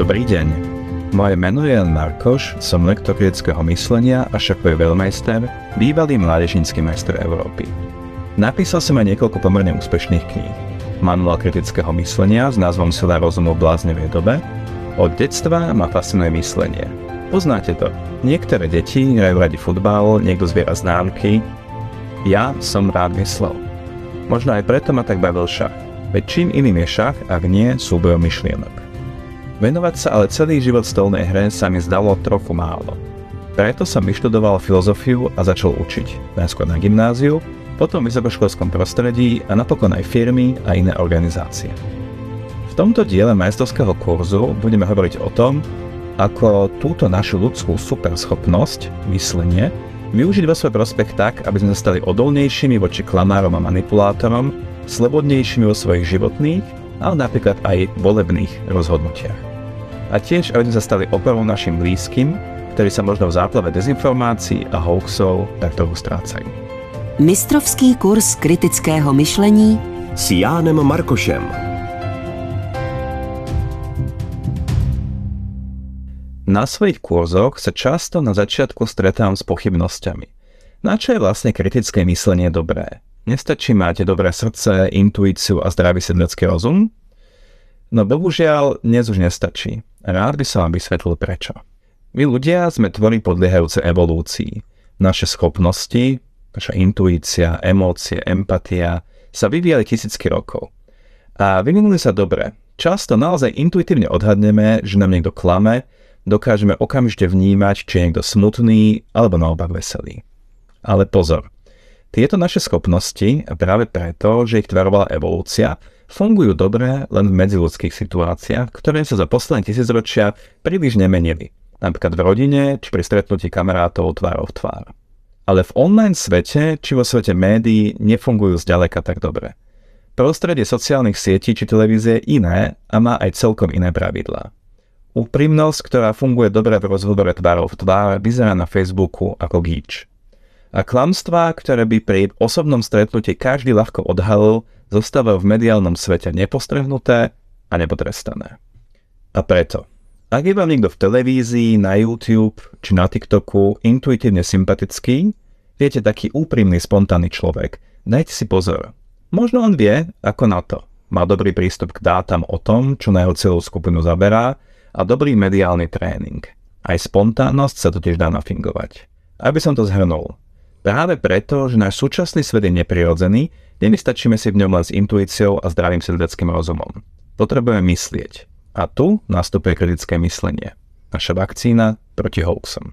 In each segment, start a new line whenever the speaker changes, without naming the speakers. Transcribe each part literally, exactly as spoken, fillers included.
Dobrý deň. Moje meno je Jan Markoš, som lektor kritického myslenia a šakový veľmajster, bývalý mládežnícky majster Európy. Napísal som aj niekoľko pomerne úspešných kníh. Manuál kritického myslenia s názvom Sila rozumu v bláznivej dobe. Od detstva ma fascinuje myslenie. Poznáte to. Niektoré deti hrajú radi futbal, niekto zbiera známky. Ja som rád myslel. Možno aj preto ma tak bavil šach. Veď čím iným je šach, ak nie súbojom myšlienok. Venovať sa ale celý život stolnej hre sa mi zdalo trochu málo. Preto som vyštudoval filozofiu a začal učiť, najskôr na gymnáziu, potom v vysokoškolskom prostredí a napokon aj firmy a iné organizácie. V tomto diele majstrovského kurzu budeme hovoriť o tom, ako túto našu ľudskú superschopnosť, myslenie, využiť vo svoj prospech tak, aby sme sa stali odolnejšími voči klamárom a manipulátorom, slobodnejšími vo svojich životných, ale napríklad aj volebných rozhodnutiach. A tiež, aby sme sa stali oporou našim blízkym, ktorí sa možno v záplave dezinformácií a hoaxov tak trochu strácajú.
Mistrovský kurz kritického myšlení
s Jánem Markošem.
Na svojich kurzoch sa často na začiatku stretám s pochybnosťami. Na čo je vlastne kritické myslenie dobré? Nestačí mať dobré srdce, intuíciu a zdravý sedlecký rozum? No bohužiaľ, dnes už nestačí. Rád by som vám vysvetlil prečo. My ľudia sme tvory podliehajúce evolúcii. Naše schopnosti, naša intuícia, emócie, empatia sa vyvíjali tisícky rokov. A vyvinuli sa dobre. Často naozaj intuitívne odhadneme, že nám niekto klame, dokážeme okamžite vnímať, či je niekto smutný alebo naopak veselý. Ale pozor. Tieto naše schopnosti, práve preto, že ich tvarovala evolúcia, fungujú dobre len v medziľudských situáciách, ktoré sa za posledné tisícročia príliš nemenili. Napríklad v rodine, či pri stretnutí kamarátov tvárov v tvár. Ale v online svete, či vo svete médií, nefungujú zďaleka tak dobre. Prostredie sociálnych sietí či televízie je iné a má aj celkom iné pravidlá. Úprimnosť, ktorá funguje dobre v rozhovore tvárov v tvár, vyzerá na Facebooku ako gíč. A klamstvá, ktoré by pri osobnom stretnutí každý ľahko odhalil, zostávajú v mediálnom svete nepostrehnuté a nepotrestané. A preto, ak je vám niekto v televízii, na YouTube či na TikToku intuitívne sympatický, viete, taký úprimný, spontánny človek, dajte si pozor. Možno on vie, ako na to. Má dobrý prístup k dátam o tom, čo na jeho celú skupinu zaberá a dobrý mediálny tréning. Aj spontánnosť sa totiž dá nafingovať. Aby som to zhrnul. Práve preto, že náš súčasný svet je neprirodzený, nevystačíme si v ňom len s intuíciou a zdravým sedleckým rozumom. Potrebujeme myslieť. A tu nastupuje kritické myslenie. Naša vakcína proti hoaxom.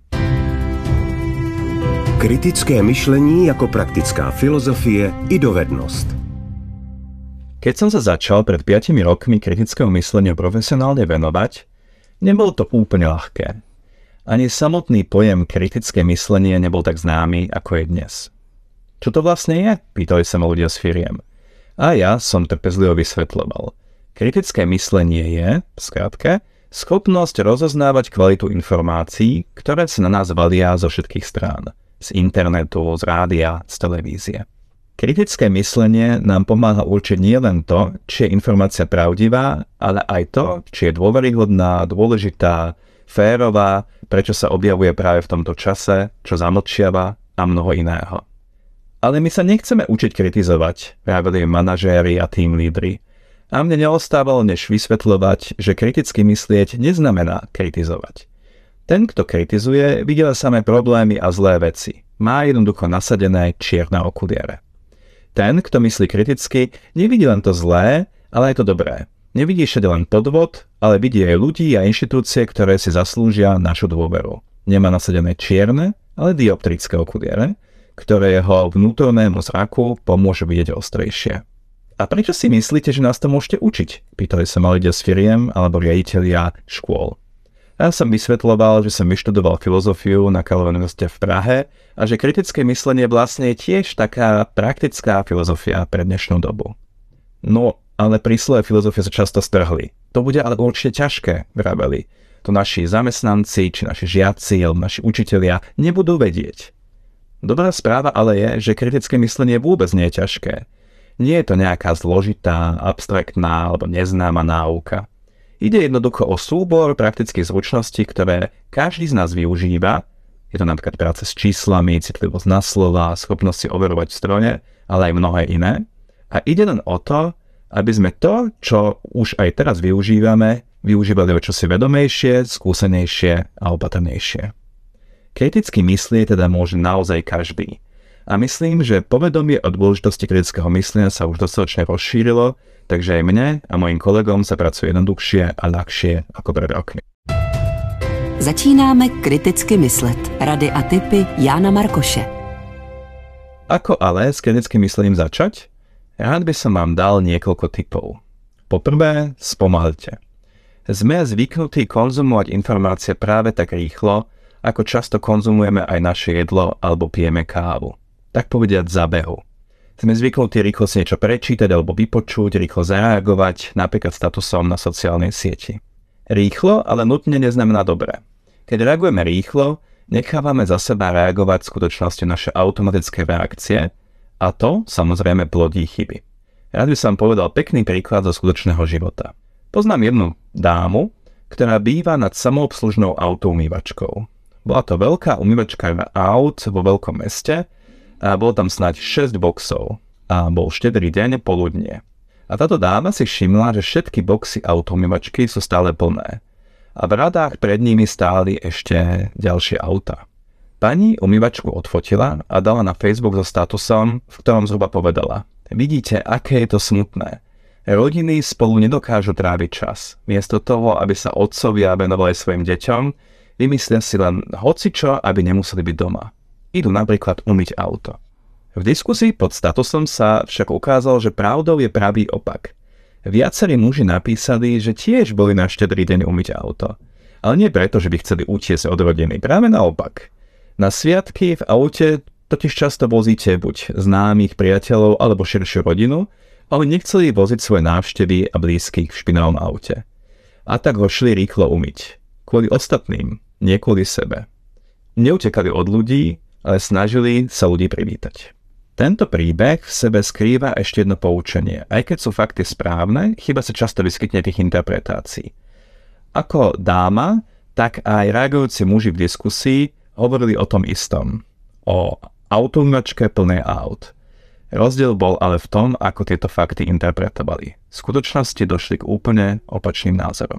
Kritické myšlení jako praktická filozofie i dovednost.
Keď som sa začal pred piatimi rokmi kritickému mysleniu profesionálne venovať, nebolo to úplne ľahké. Ani samotný pojem kritické myslenie nebol tak známy, ako je dnes. Čo to vlastne je? Pýtali sa ma ľudia z firiem. A ja som trpezlivo vysvetľoval. Kritické myslenie je, v skratke, schopnosť rozoznávať kvalitu informácií, ktoré sa na nás valia zo všetkých strán. Z internetu, z rádia, z televízie. Kritické myslenie nám pomáha určiť nielen to, či je informácia pravdivá, ale aj to, či je dôveryhodná, dôležitá, férová, prečo sa objavuje práve v tomto čase, čo zamlčiava a mnoho iného. Ale my sa nechceme učiť kritizovať, vraveli manažéri a team lídri. A mne neostávalo než vysvetľovať, že kriticky myslieť neznamená kritizovať. Ten, kto kritizuje, vidí samé problémy a zlé veci. Má jednoducho nasadené čierne okuliare. Ten, kto myslí kriticky, nevidí len to zlé, ale aj to dobré. Nevidí všade len podvod, ale vidí aj ľudí a inštitúcie, ktoré si zaslúžia našu dôveru. Nemá nasadené čierne, ale dioptrické okuliare, ktoré jeho vnútornému zraku pomôžu vidieť ostrejšie. A prečo si myslíte, že nás to môžete učiť? Pýtali sa ma ľudia z firiem alebo riaditelia škôl. Ja som vysvetľoval, že som vyštudoval filozofiu na Karlovej univerzite v Prahe a že kritické myslenie vlastne je tiež taká praktická filozofia pre dnešnú dobu. No, ale pri slove filozofie sa často strhli. To bude ale určite ťažké, vraveli. To naši zamestnanci, či naši žiaci, alebo naši učitelia nebudú vedieť. Dobrá správa ale je, že kritické myslenie vôbec nie je ťažké. Nie je to nejaká zložitá, abstraktná alebo neznáma náuka. Ide jednoducho o súbor praktických zručností, ktoré každý z nás využíva. Je to napríklad práca s číslami, citlivosť na slova, schopnosť si overovať v strojne, ale aj mnohé iné. A ide len o to, aby sme to, čo už aj teraz využívame, využívali o čosi vedomejšie, skúsenejšie a opatrnejšie. Kriticky myslieť teda môže naozaj každý. A myslím, že povedomie o dôležitosti kritického myslenia sa už dostatočne rozšírilo, takže aj mne a mojim kolegom sa pracuje jednoduchšie a ľahšie ako pred rokmi.
Začínáme kriticky myslet. Rady a tipy Jána Markoše.
Ako ale s kritickým myslením začať? Rád by som vám dal niekoľko tipov. Poprvé, spomalte. Sme zvyknutí konzumovať informácie práve tak rýchlo, ako často konzumujeme aj naše jedlo alebo pijeme kávu. Tak povediať za behu. Sme zvyknutí rýchlo si niečo prečítať alebo vypočuť, rýchlo zareagovať, napríklad statusom na sociálnej sieti. Rýchlo, ale nutne neznamená dobre. Keď reagujeme rýchlo, nechávame za seba reagovať v skutočnosti naše automatické reakcie a to samozrejme plodí chyby. Rád by som povedal pekný príklad zo skutočného života. Poznám jednu dámu, ktorá býva nad samoobslužnou autoumývačkou. Bola to veľká umývačka aut vo veľkom meste, a bolo tam snáď šesť boxov a bol štedrý deň poludnie. A táto dáma si všimla, že všetky boxy autoumývačky sú stále plné a v radách pred nimi stáli ešte ďalšie auta. Pani umývačku odfotila a dala na Facebook so statusom, v ktorom zhruba povedala: vidíte, aké je to smutné. Rodiny spolu nedokážu tráviť čas. Miesto toho, aby sa otcovia venovali svojim deťom, vymyslia si len hocičo, aby nemuseli byť doma. Idú napríklad umyť auto. V diskusii pod statusom sa však ukázalo, že pravdou je pravý opak. Viacerí muži napísali, že tiež boli na štedrý deň umyť auto. Ale nie preto, že by chceli utiesť od rodiny, práve naopak. Na sviatky v aute totiž často vozíte buď známych priateľov alebo širšiu rodinu, ale nechceli voziť svoje návštevy a blízkych v špinavom aute. A tak ho šli rýchlo umyť. Kvôli ostatným, nie kvôli sebe. Neutekali od ľudí, ale snažili sa ľudí privítať. Tento príbeh v sebe skrýva ešte jedno poučenie. Aj keď sú fakty správne, chyba sa často vyskytne tých interpretácií. Ako dáma, tak aj reagujúci muži v diskusii hovorili o tom istom. O autoumývačke plnej aut. Rozdiel bol ale v tom, ako tieto fakty interpretovali. V skutočnosti došli k úplne opačným názorom.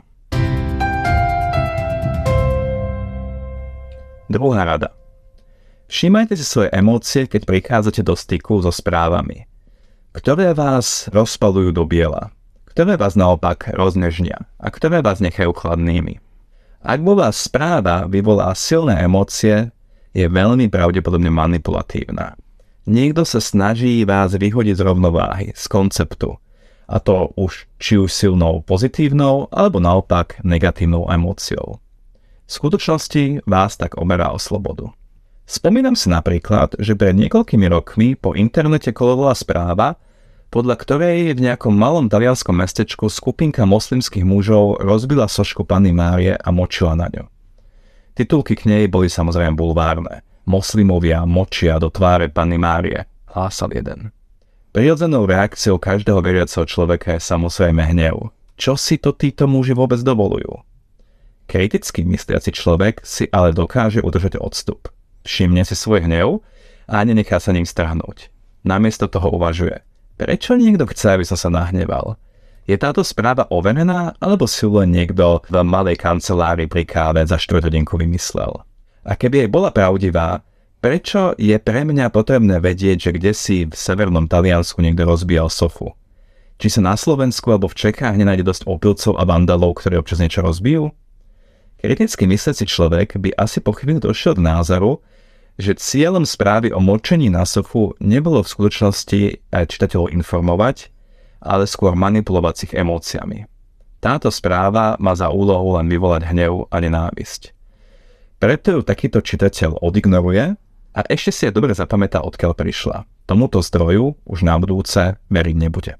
Druhá rada. Všímajte si svoje emócie, keď prichádzate do styku so správami, ktoré vás rozpaľujú do biela, ktoré vás naopak roznežnia a ktoré vás nechajú chladnými. Ak vo vás správa vyvolá silné emócie, je veľmi pravdepodobne manipulatívna. Niekto sa snaží vás vyhodiť z rovnováhy, z konceptu, a to už či už silnou pozitívnou alebo naopak negatívnou emóciou. V skutočnosti vás tak oberá o slobodu. Spomínam si napríklad, že pred niekoľkými rokmi po internete kolovala správa, podľa ktorej v nejakom malom talianskom mestečku skupinka moslimských mužov rozbila sošku Panny Márie a močila na ňu. Titulky k nej boli samozrejme bulvárne. Moslimovia močia do tváre Panny Márie, hlásal jeden. Prirodzenou reakciou každého veriaceho človeka je samozrejme hnev. Čo si to títo muži vôbec dovolujú? Kriticky mysliaci človek si ale dokáže udržať odstup. Všimne si svoj hnev a nenechá sa ním strhnúť. Namiesto toho uvažuje. Prečo niekto chce, aby som sa nahneval? Je táto správa overená, alebo si len niekto v malej kancelárii pri káve za štvrťhodinku vymyslel? A keby jej bola pravdivá, prečo je pre mňa potrebné vedieť, že kdesi v severnom Taliansku niekto rozbíjal sofu? Či sa na Slovensku alebo v Čechách nenájde dosť opilcov a vandalov, ktorí občas niečo rozbijú? Kriticky mysliaci človek by asi po chvíli došiel k názoru, že cieľom správy o močení na sofu nebolo v skutočnosti čitateľov informovať, ale skôr manipulovať s ich emóciami. Táto správa má za úlohu len vyvolať hnev a nenávisť. Preto ju takýto čitateľ odignoruje a ešte si je dobre zapamätá, odkiaľ prišla. Tomuto zdroju už na budúce veriť nebude.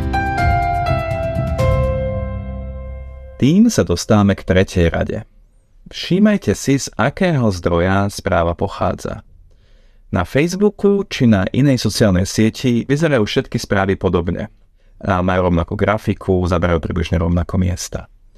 Tým sa dostávame k tretej rade. Všímajte si, z akého zdroja správa pochádza. Na Facebooku či na inej sociálnej sieti vyzerajú všetky správy podobne. A majú rovnakú grafiku, zaberajú približne rovnako miesta.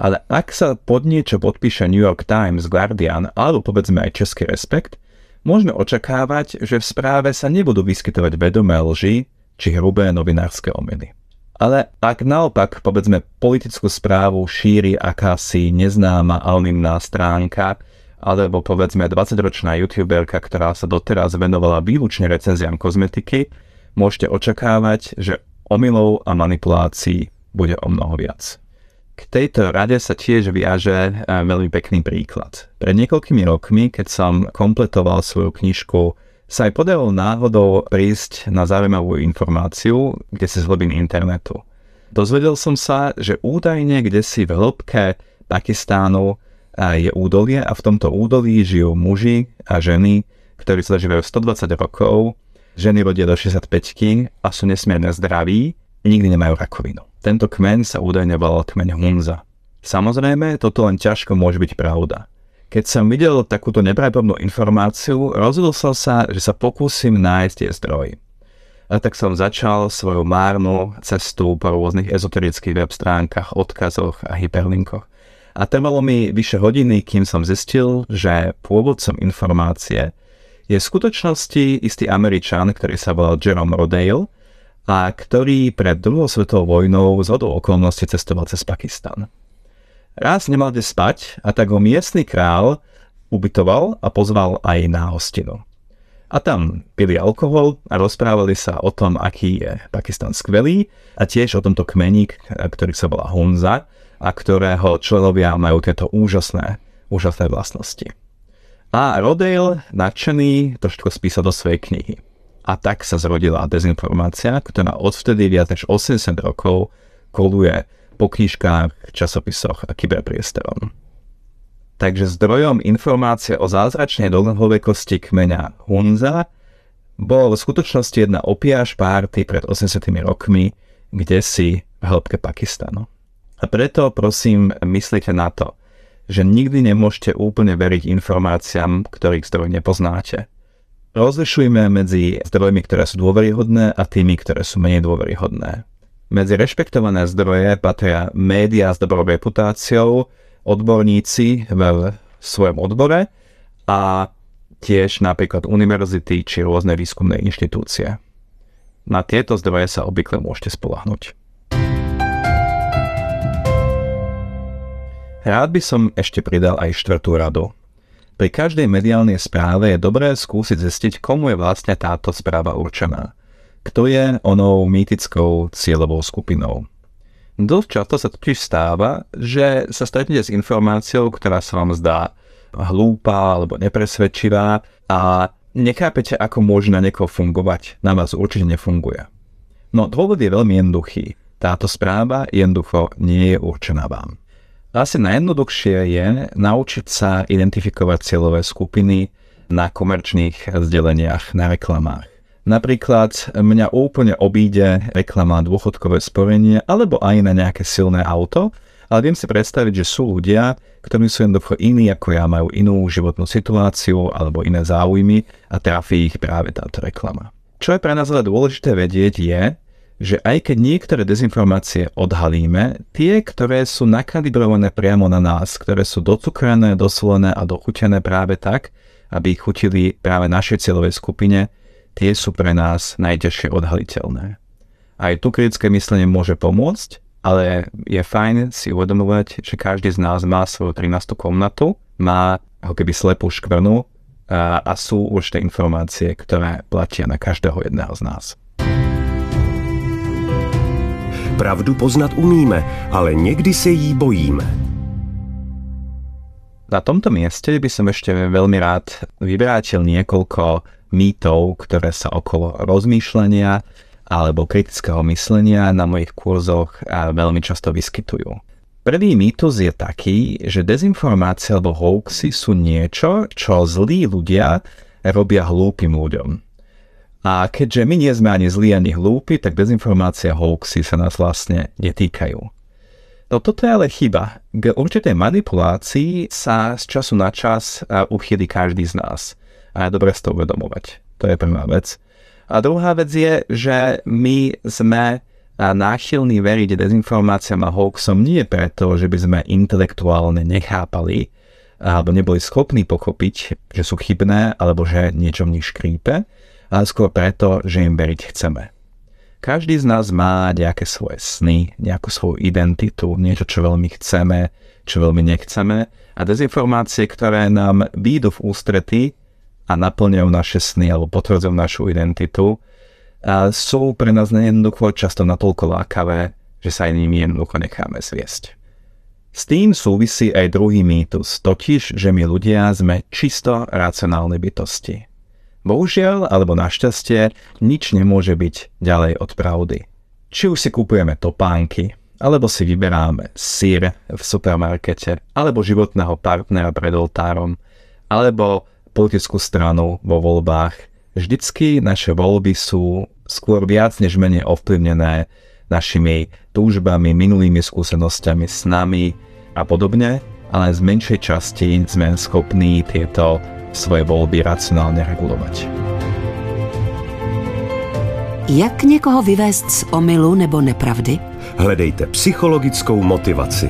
Ale ak sa pod niečo podpíše New York Times, Guardian alebo povedzme aj Český Respekt, môžeme očakávať, že v správe sa nebudú vyskytovať vedomé lži či hrubé novinárske omyly. Ale ak naopak povedzme politickú správu šíri akási neznáma anonymná stránka alebo povedzme dvadsaťročná youtuberka, ktorá sa doteraz venovala výlučne recenziám kozmetiky, môžete očakávať, že omylov a manipulácií bude o mnoho viac. K tejto rade sa tiež viaže veľmi pekný príklad. Pred niekoľkými rokmi, keď som kompletoval svoju knižku, sa aj podarilo náhodou prísť na zaujímavú informáciu, kde si z hlbín internetu. Dozvedel som sa, že údajne kdesi v hĺbke Pakistánu je údolie a v tomto údolí žijú muži a ženy, ktorí sa zažívajú stodvadsať rokov, ženy rodia do šesťdesiatpäťky a sú nesmierne zdraví, nikdy nemajú rakovinu. Tento kmeň sa údajne volal kmeň Hunza. Samozrejme, toto len ťažko môže byť pravda. Keď som videl takúto nepravdepodobnú informáciu, rozhodol som sa, že sa pokúsim nájsť tie zdroje. A tak som začal svoju márnu cestu po rôznych ezoterických web stránkach, odkazoch a hyperlinkoch. A trvalo mi vyše hodiny, kým som zistil, že pôvodcom informácie je v skutočnosti istý Američan, ktorý sa volal Jerome Rodale, a ktorý pred druhou svetovou vojnou zhodou okolností cestoval cez Pakistan. Raz nemal kde spať a tak ho miestny král ubytoval a pozval aj na hostinu. A tam pili alkohol a rozprávali sa o tom, aký je Pakistan skvelý a tiež o tomto kmení, ktorý sa volá Hunza a ktorého členovia majú tieto úžasné, úžasné vlastnosti. A Rodale, nadšený, trošku spísal do svojej knihy. A tak sa zrodila dezinformácia, ktorá odvtedy viac než osemdesiat rokov koluje po knižkách, časopisoch a kyberpriestorom. Takže zdrojom informácie o zázračnej dlhovekosti kmeňa Hunza bol v skutočnosti jedna opiaš párty pred osemdesiatimi rokmi, kdesi v hĺbke Pakistanu. A preto prosím, myslíte na to, že nikdy nemôžete úplne veriť informáciám, ktorých zdroj nepoznáte. Rozlišujme medzi zdrojmi, ktoré sú dôveryhodné a tými, ktoré sú menej dôveryhodné. Medzi rešpektované zdroje patria médiá s dobrou reputáciou, odborníci v svojom odbore a tiež napríklad univerzity či rôzne výskumné inštitúcie. Na tieto zdroje sa obvykle môžete spoľahnúť. Rád by som ešte pridal aj štvrtú radu. Pri každej mediálnej správe je dobré skúsiť zistiť, komu je vlastne táto správa určená. Kto je onou mýtickou cieľovou skupinou. Dosť často sa totiž stáva, že sa stretnete s informáciou, ktorá sa vám zdá hlúpa alebo nepresvedčivá a nechápete, ako môže na niekoho fungovať. Na vás určite nefunguje. No dôvod je veľmi jednoduchý. Táto správa jednoducho nie je určená vám. Asi najjednoduchšie je naučiť sa identifikovať cieľové skupiny na komerčných zdeleniach, na reklamách. Napríklad mňa úplne obíde reklama dôchodkové sporenie alebo aj na nejaké silné auto, ale viem si predstaviť, že sú ľudia, ktorí sú jednoducho iní ako ja, majú inú životnú situáciu alebo iné záujmy a trafí ich práve táto reklama. Čo je pre nás ale dôležité vedieť je, že aj keď niektoré dezinformácie odhalíme, tie, ktoré sú nakalibrované priamo na nás, ktoré sú docukrené, dosolené a dochutené práve tak, aby ich chutili práve našej cieľovej skupine, tie sú pre nás najťažšie odhaliteľné. Aj tu kritické myslenie môže pomôcť, ale je fajn si uvedomovať, že každý z nás má svoju trinástu komnatu, má ako keby slepú škvrnu a, a sú určité informácie, ktoré platia na každého jedného z nás.
Pravdu poznat umíme, ale niekdy se jí bojíme.
Na tomto mieste by som ešte veľmi rád vyvrátil niekoľko mýtov, ktoré sa okolo rozmýšľania alebo kritického myslenia na mojich kurzoch veľmi často vyskytujú. Prvý mýtus je taký, že dezinformácie alebo hoaxy sú niečo, čo zlí ľudia robia hlúpym ľuďom. A keďže my nie sme ani zlí, ani hlúpi, tak dezinformácia a hoaxy sa nás vlastne netýkajú. No toto je ale chyba. K určitej manipulácii sa z času na čas uchýli každý z nás. A je dobre si to uvedomovať. To je prvá vec. A druhá vec je, že my sme a náchylní veriť dezinformáciám a hoaxom nie preto, že by sme intelektuálne nechápali alebo neboli schopní pochopiť, že sú chybné alebo že niečo v nich škrípe, ale skôr preto, že im veriť chceme. Každý z nás má nejaké svoje sny, nejakú svoju identitu, niečo, čo veľmi chceme, čo veľmi nechceme a dezinformácie, ktoré nám výjdu v ústrety a naplňajú naše sny alebo potvrdzujú našu identitu, a sú pre nás nejednoducho často natoľko lákavé, že sa aj nimi jednoducho necháme zviesť. S tým súvisí aj druhý mýtus, totiž, že my ľudia sme čisto racionálne bytosti. Bohužiaľ, alebo našťastie, nič nemôže byť ďalej od pravdy. Či už si kupujeme topánky, alebo si vyberáme syr v supermarkete, alebo životného partnera pred oltárom, alebo politickú stranu vo voľbách, vždycky naše voľby sú skôr viac než menej ovplyvnené našimi túžbami, minulými skúsenosťami, snami a podobne, ale z menšej časti sme schopní tieto svoje voľby racionálne regulovať.
Jak někoho vyvést z omylu nebo nepravdy?
Hledejte psychologickou motivaci.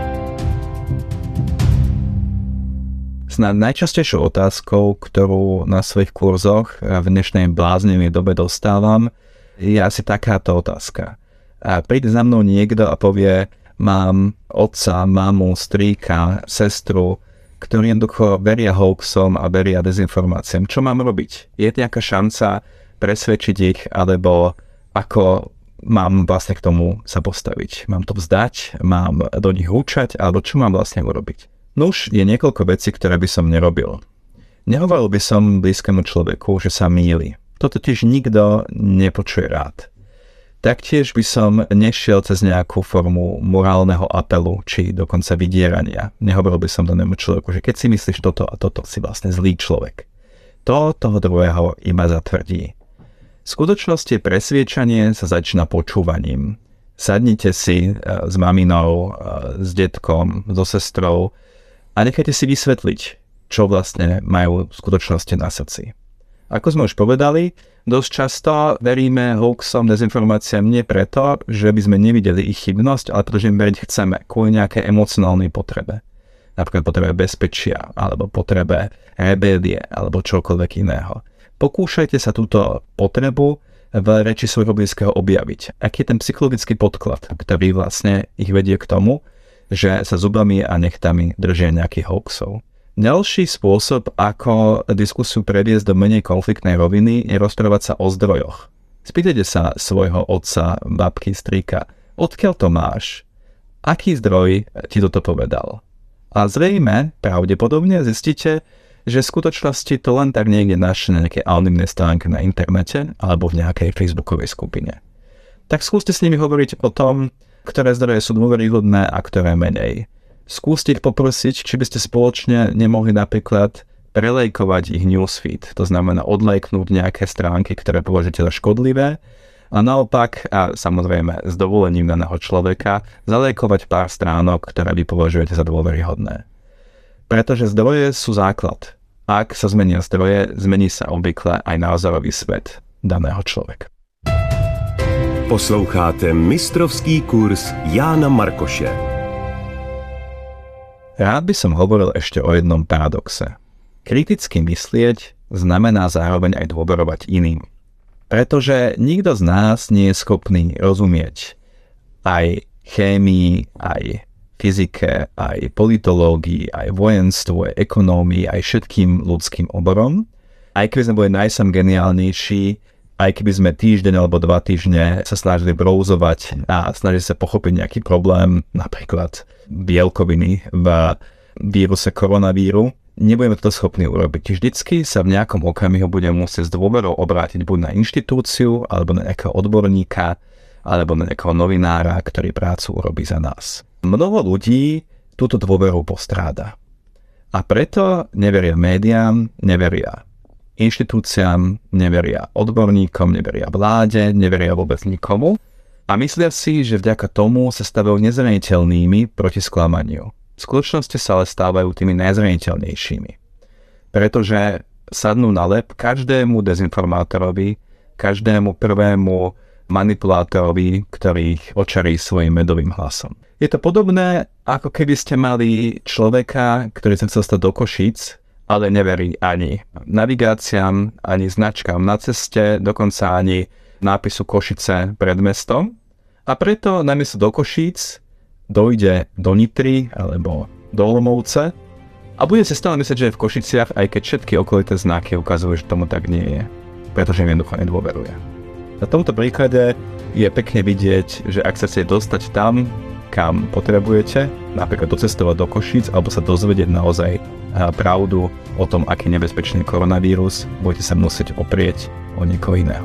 Snad najčastejšou otázkou, ktorú na svojich kurzoch v dnešnej bláznivej dobe dostávam, je asi takáto otázka. A príde za mnou niekto a povie, mám otca, mamu, strýka, sestru, ktorí jednoducho veria hoaxom a veria dezinformáciám. Čo mám robiť? Je nejaká šanca presvedčiť ich, alebo ako mám vlastne k tomu sa postaviť? Mám to vzdať? Mám do nich húčať? Alebo čo mám vlastne urobiť? Nuž, je niekoľko vecí, ktoré by som nerobil. Nehovoril by som blízkemu človeku, že sa mýli. To totiž nikto nepočuje rád. Taktiež by som nešiel cez nejakú formu morálneho apelu, či dokonca vydierania. Nehovoril by som danému človeku, že keď si myslíš toto a toto, si vlastne zlý človek. To toho druhého iba zatvrdí. V skutočnosti presviečanie sa začína počúvaním. Sadnite si s maminou, s detkom, so sestrou a nechajte si vysvetliť, čo vlastne majú v skutočnosti na srdci. Ako sme už povedali, dosť často veríme hoaxom, dezinformáciám nie preto, že by sme nevideli ich chybnosť, ale pretože im veriť chceme, kvôli nejakej emocionálnej potrebe. Napríklad potrebe bezpečia, alebo potrebe rebélie, alebo čokoľvek iného. Pokúšajte sa túto potrebu v reči svojho blízkeho objaviť. Aký je ten psychologický podklad, ktorý vlastne ich vedie k tomu, že sa zubami a nechtami držia nejakých hoaxov. Ďalší spôsob, ako diskusiu previesť do menej konfliktnej roviny, je rozprávať sa o zdrojoch. Spýtajte sa svojho otca, babky, strýka, odkiaľ to máš? Aký zdroj ti toto povedal? A zrejme, pravdepodobne zistíte, že v skutočnosti to len tak niekde našli na nejakej anonymnej stránke na internete alebo v nejakej facebookovej skupine. Tak skúste s nimi hovoriť o tom, ktoré zdroje sú dôveryhodné a ktoré menej. Skúste ich poprosiť, či by ste spoločne nemohli napríklad prelejkovať ich newsfeed, to znamená odlajknúť nejaké stránky, ktoré považujete za škodlivé a naopak, a samozrejme s dovolením daného človeka, zalejkovať pár stránok, ktoré vy považujete za dôveryhodné. Pretože zdroje sú základ. Ak sa zmenia zdroje, zmení sa obvykle aj názorový svet daného človeka.
Posloucháte mistrovský kurz Jána Markoše.
Rád by som hovoril ešte o jednom paradoxe. Kriticky myslieť znamená zároveň aj dôverovať iným. Pretože nikto z nás nie je schopný rozumieť aj chémii, aj fyzike, aj politológii, aj vojenstvu, aj ekonómii, aj všetkým ľudským oborom. Aj keby sme boli najsam geniálnejší, aj keby sme týždeň alebo dva týždne sa snažili brouzovať a snažili sa pochopiť nejaký problém, napríklad bielkoviny v víruse koronavíru, nebudeme to schopní urobiť. Vždycky sa v nejakom okamihu budeme musieť s dôverou obrátiť buď na inštitúciu, alebo na nejakého odborníka, alebo na nejakého novinára, ktorý prácu urobí za nás. Mnoho ľudí túto dôveru postráda. A preto neveria médiám, neveria inštitúciám, neveria odborníkom, neveria vláde, neveria vôbec nikomu a myslia si, že vďaka tomu sa stavajú nezraniteľnými proti sklamaniu. V skutočnosti sa ale stávajú tými najzraniteľnejšími. Pretože sadnú na lep každému dezinformátorovi, každému prvému manipulátorovi, ktorých očarí svojim medovým hlasom. Je to podobné, ako keby ste mali človeka, ktorý sa chcel stať do Košíc, ale neverí ani navigáciám, ani značkám na ceste, dokonca ani nápisu Košice pred mestom. A preto namiesto do Košíc dojde do Nitry alebo do Olomouce a bude si stále myslieť, že je v Košiciach, aj keď všetky okolité znaky ukazujú, že tomu tak nie je, pretože im jednoducho nedôveruje. Na tomto príklade je pekne vidieť, že ak sa chcete dostať tam, kam potrebujete, napríklad docestovať do Košíc alebo sa dozvedieť naozaj pravdu o tom, aký nebezpečný koronavírus, budete sa musieť oprieť o niekoho iného.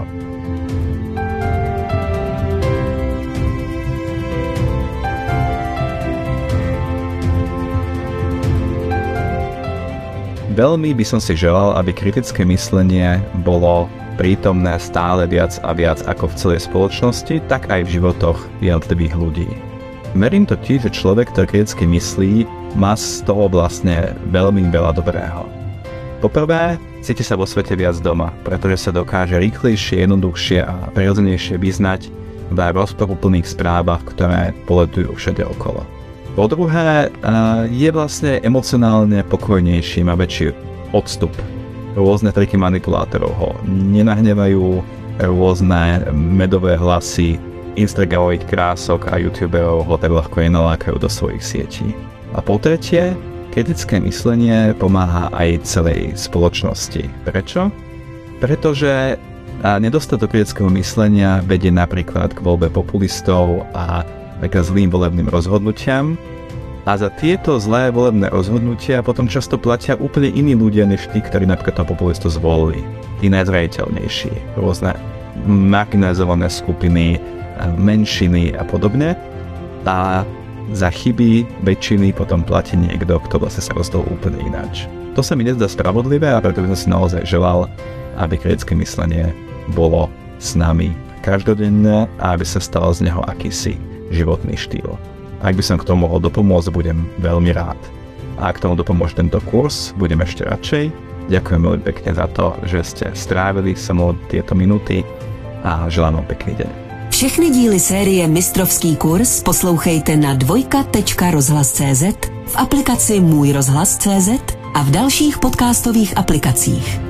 Veľmi by som si želal, aby kritické myslenie bolo prítomné stále viac a viac ako v celej spoločnosti, tak aj v životoch jednotlivých ľudí. Verím totiž, že človek, ktorý kriticky myslí, má z toho vlastne veľmi veľa dobrého. Poprvé, cíti sa vo svete viac doma, pretože sa dokáže rýchlejšie, jednoduchšie a prirodzenejšie vyznať v rozporuplných správach, ktoré poletujú všade okolo. Po druhé, je vlastne emocionálne pokojnejší, má väčší odstup. Rôzne triky manipulátorov ho nenahnevajú, rôzne medové hlasy Instagramových krások a youtuberov ho tak ľahko nenalákajú do svojich sietí. A po tretie, kritické myslenie pomáha aj celej spoločnosti. Prečo? Pretože nedostatok kritického myslenia vedie napríklad k voľbe populistov a k zlým volebným rozhodnutiam. A za tieto zlé volebné rozhodnutia potom často platia úplne iní ľudia, než tí, ktorí napríklad toho populistu zvolili. Tí najzraniteľnejší, rôzne marginalizované skupiny, menšiny a podobne. A za chyby väčšiny potom platí niekto, kto vlastne sa rozhodol úplne ináč. To sa mi nezdá spravodlivé a preto by som si naozaj želal, aby kritické myslenie bolo s nami každodenné a aby sa stalo z neho akýsi životný štýl. Ak by som k tomu mohol dopomôcť, budem veľmi rád. A ak tomu dopomôže tento kurz, budem ešte radšej. Ďakujem veľmi pekne za to, že ste strávili so mnou tieto minúty a želám vám pekný deň.
Všechny díly série Mistrovský kurz poslouchejte na dvojka tečka rozhlas tečka cé zet, v aplikaci Můj rozhlas tečka cé zet a v dalších podcastových aplikacích.